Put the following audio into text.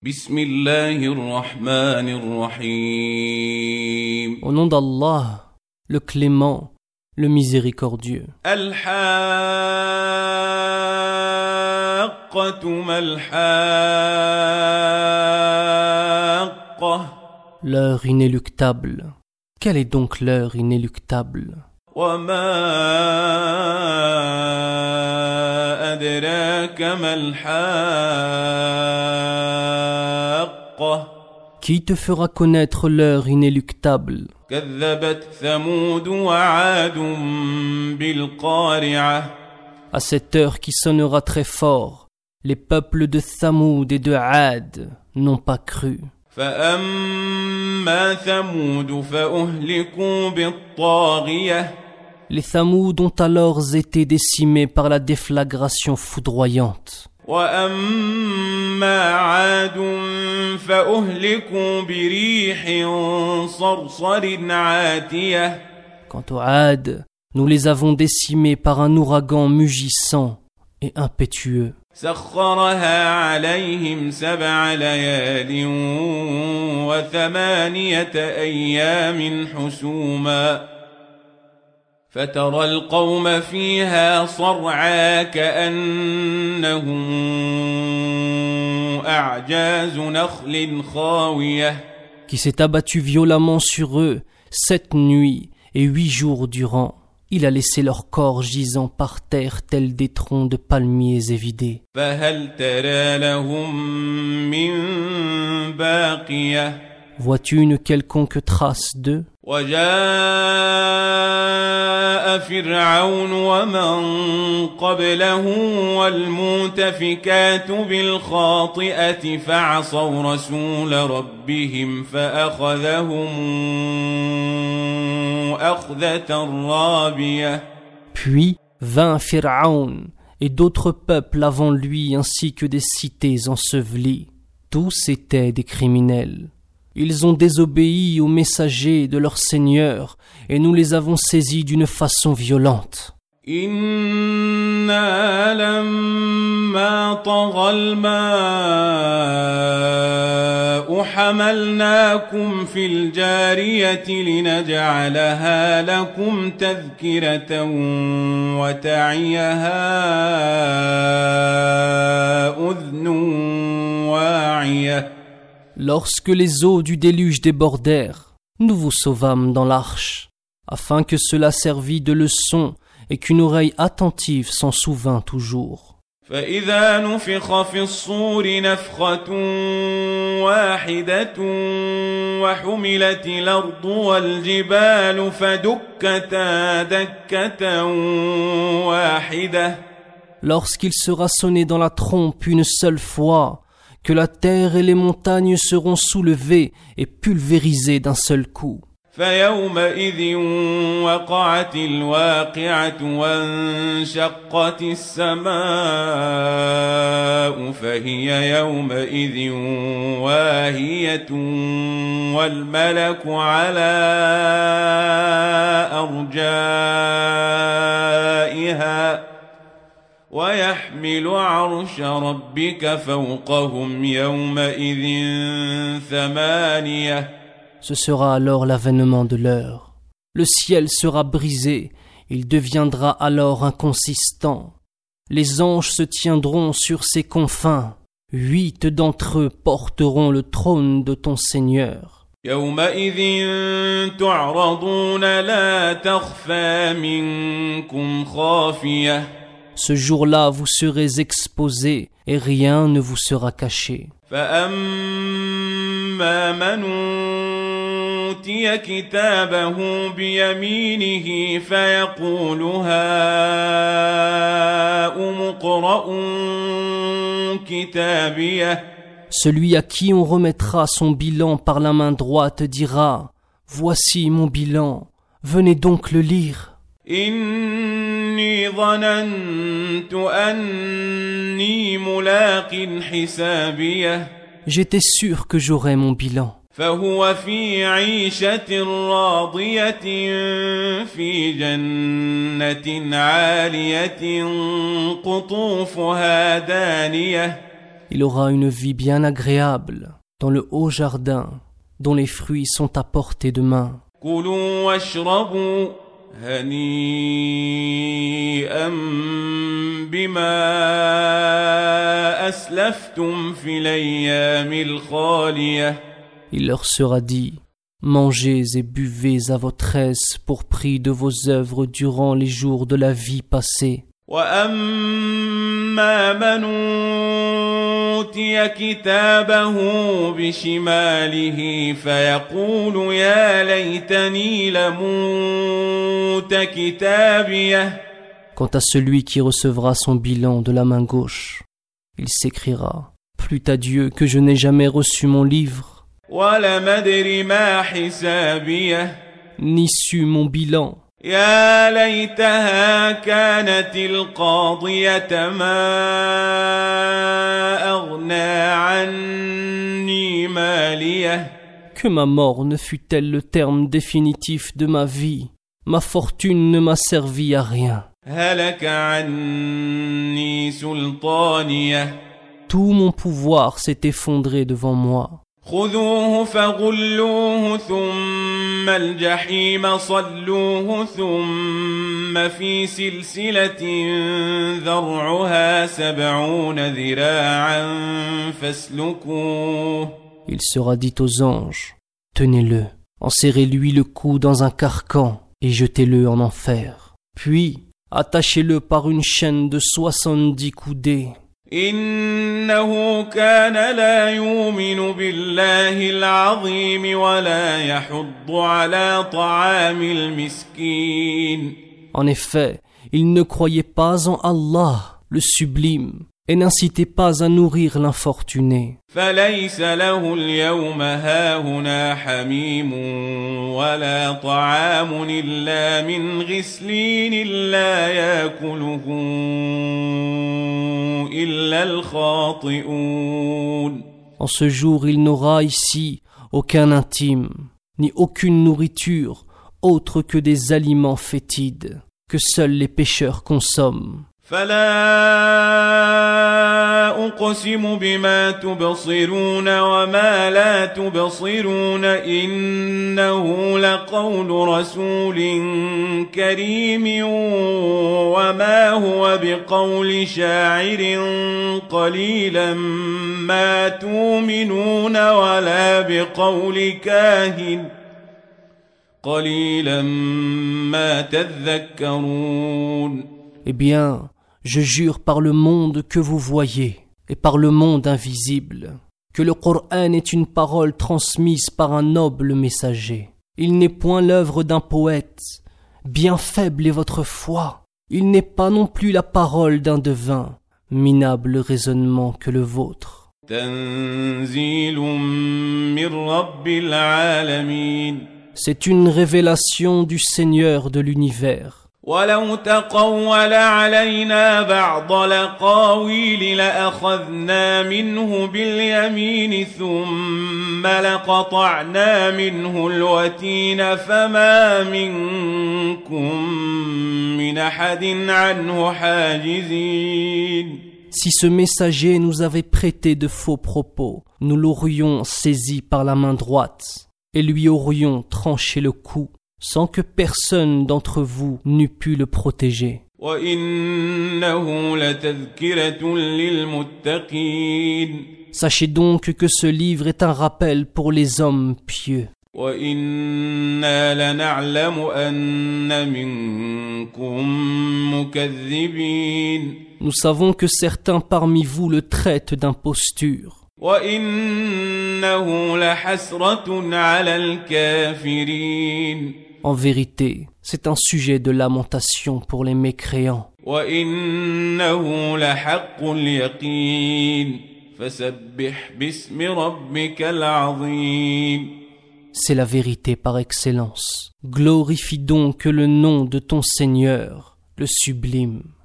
بسم الله الرحمن الرحيم. Au nom d'Allah, le clément, le miséricordieux. الحاقة ما الحاقة. L'heure inéluctable. Quelle est donc l'heure inéluctable? وما أدراك ما الحاقة. Qui te fera connaître l'heure inéluctable? كذبت ثمود وعاد بالقارعة. À cette heure qui sonnera très fort, les peuples de Thamoud et de Had n'ont pas cru. فأما ثمود فأهلكوا بالطاغية. Les Thamoud ont alors été décimés par la déflagration foudroyante. وأما عاد فأهلكوا بريح صرصر عاتية. Quant aux Had, nous les avons décimés par un ouragan mugissant et impétueux. سخرها عليهم 7 ليال و8 أيام حسوما فترى القوم فيها صرعى كأنهم أعجاز نخل خاوية. Qui s'est abattu violemment sur eux 7 nuits et 8 jours durant. Il a laissé leur corps gisant par terre tels des troncs de palmiers évidés. فهل ترى لهم من باقية. Vois-tu une quelconque trace d'eux? وجاء فرعون ومن قبله والمؤتفكات بالخاطئة فعصوا رسول ربهم فأخذهم أخذة رابية. Puis vint Pharaon et d'autres peuples avant lui ainsi que des cités ensevelies. Tous étaient des criminels. Ils ont désobéi aux messagers de leur Seigneur et nous les avons saisis d'une façon violente. إنا لما طغى الماء حملناكم في الجارية لنجعلها لكم تذكرة وتعيها أذن واعية. Lorsque les eaux du déluge débordèrent, nous vous sauvâmes dans l'arche, afin que cela servît de leçon et qu'une oreille attentive s'en souvînt toujours. فإذا نفخ في الصور نفخة واحدة وحملت الأرض والجبال فدكتا دكة واحدة. Lorsqu'il sera sonné dans la trompe une seule fois, que la terre et les montagnes seront soulevées et pulvérisées d'un seul coup. فيومئذ وقعت الواقعة وانشقت السماء فهي يومئذ واهية والملك على أرجائها ويحمل عرش ربك فوقهم يومئذ 8. Ce sera alors l'avènement de l'heure. Le ciel sera brisé, il deviendra alors inconsistant. Les anges se tiendront sur ses confins. 8 d'entre eux porteront le trône de ton Seigneur. يومئذ تعرضون لا تخفى منكم خافية. Ce jour-là, vous serez exposés et rien ne vous sera caché. فأما من أوتي كتابه بيمينه فيقول هاؤم اقرءوا كتابيه. Celui à qui on remettra son bilan par la main droite dira « Voici mon bilan, venez donc le lire. » إني ظننت أني ملاق حسابيه. J'étais sûr que j'aurais mon bilan. فهو في عيشة راضية في جنة عالية قطوفها دانية. Il aura une vie bien agréable dans le haut jardin dont les fruits sont à portée de main. كلوا واشربوا هنيئا بما أسلفتم في الأيام الخالية. Il leur sera dit, mangez et buvez à votre aise pour prix de vos œuvres durant les jours de la vie passée. وأما من أوتي كتابه بشماله فيقول يا ليتني لموت كتابيه. Quant à celui qui recevra son bilan de la main gauche, il s'écriera, plût à Dieu que je n'ai jamais reçu mon livre, ولم أدر ما حسابيه. ni su mon bilan. يا ليتها كانت القاضية ما أغنى عني ماليه. Que ma mort ne fût-elle le terme définitif de ma vie, ma fortune ne m'a servi à rien. هلك عني سلطانيه. Tout mon pouvoir s'est effondré devant moi. خذوه فغلوه ثم الجحيم صلوه ثم في سلسلة ذرعها 70 ذراعا فاسلكوه. Il sera dit aux anges, tenez-le, enserrez-lui le cou dans un carcan et jetez-le en enfer. Puis, attachez-le par une chaîne de 70 coudées. إنه كان لا يؤمن بالله العظيم ولا يحض على طعام المسكين. En effet, il ne croyait pas en Allah, le sublime, et n'incitait pas à nourrir l'infortuné. فليس له اليوم هاهنا حميم ولا طعام إلا من غسلين لا يأكله إلا الخاطئون. En ce jour, il n'aura ici aucun intime, ni aucune nourriture autre que des aliments fétides, que seuls les pécheurs consomment. فلا أقسم بما تبصرون وما لا تبصرون إنه لقول رسول كريم وما هو بقول شاعر قليلا ما تؤمنون ولا بقول كاهن قليلا ما تذكرون. Eh bien, je jure par le monde que vous voyez et par le monde invisible, que le Coran est une parole transmise par un noble messager. Il n'est point l'œuvre d'un poète. Bien faible est votre foi. Il n'est pas non plus la parole d'un devin. Minable raisonnement que le vôtre. تنزيل من رب العالمين. C'est une révélation du Seigneur de l'univers. ولو تقول علينا بعض الأقاويل لأخذنا منه باليمين ثم لقطعنا منه الوتين فما منكم من أحد عنه حاجزين. Si ce messager nous avait prêté de faux propos, nous l'aurions saisi par la main droite et lui aurions tranché le cou, sans que personne d'entre vous n'eût pu le protéger. Sachez donc que ce livre est un rappel pour les hommes pieux. Nous savons que certains parmi vous le traitent d'imposture. En vérité, c'est un sujet de lamentation pour les mécréants. C'est la vérité par excellence. Glorifie donc le nom de ton Seigneur, le sublime.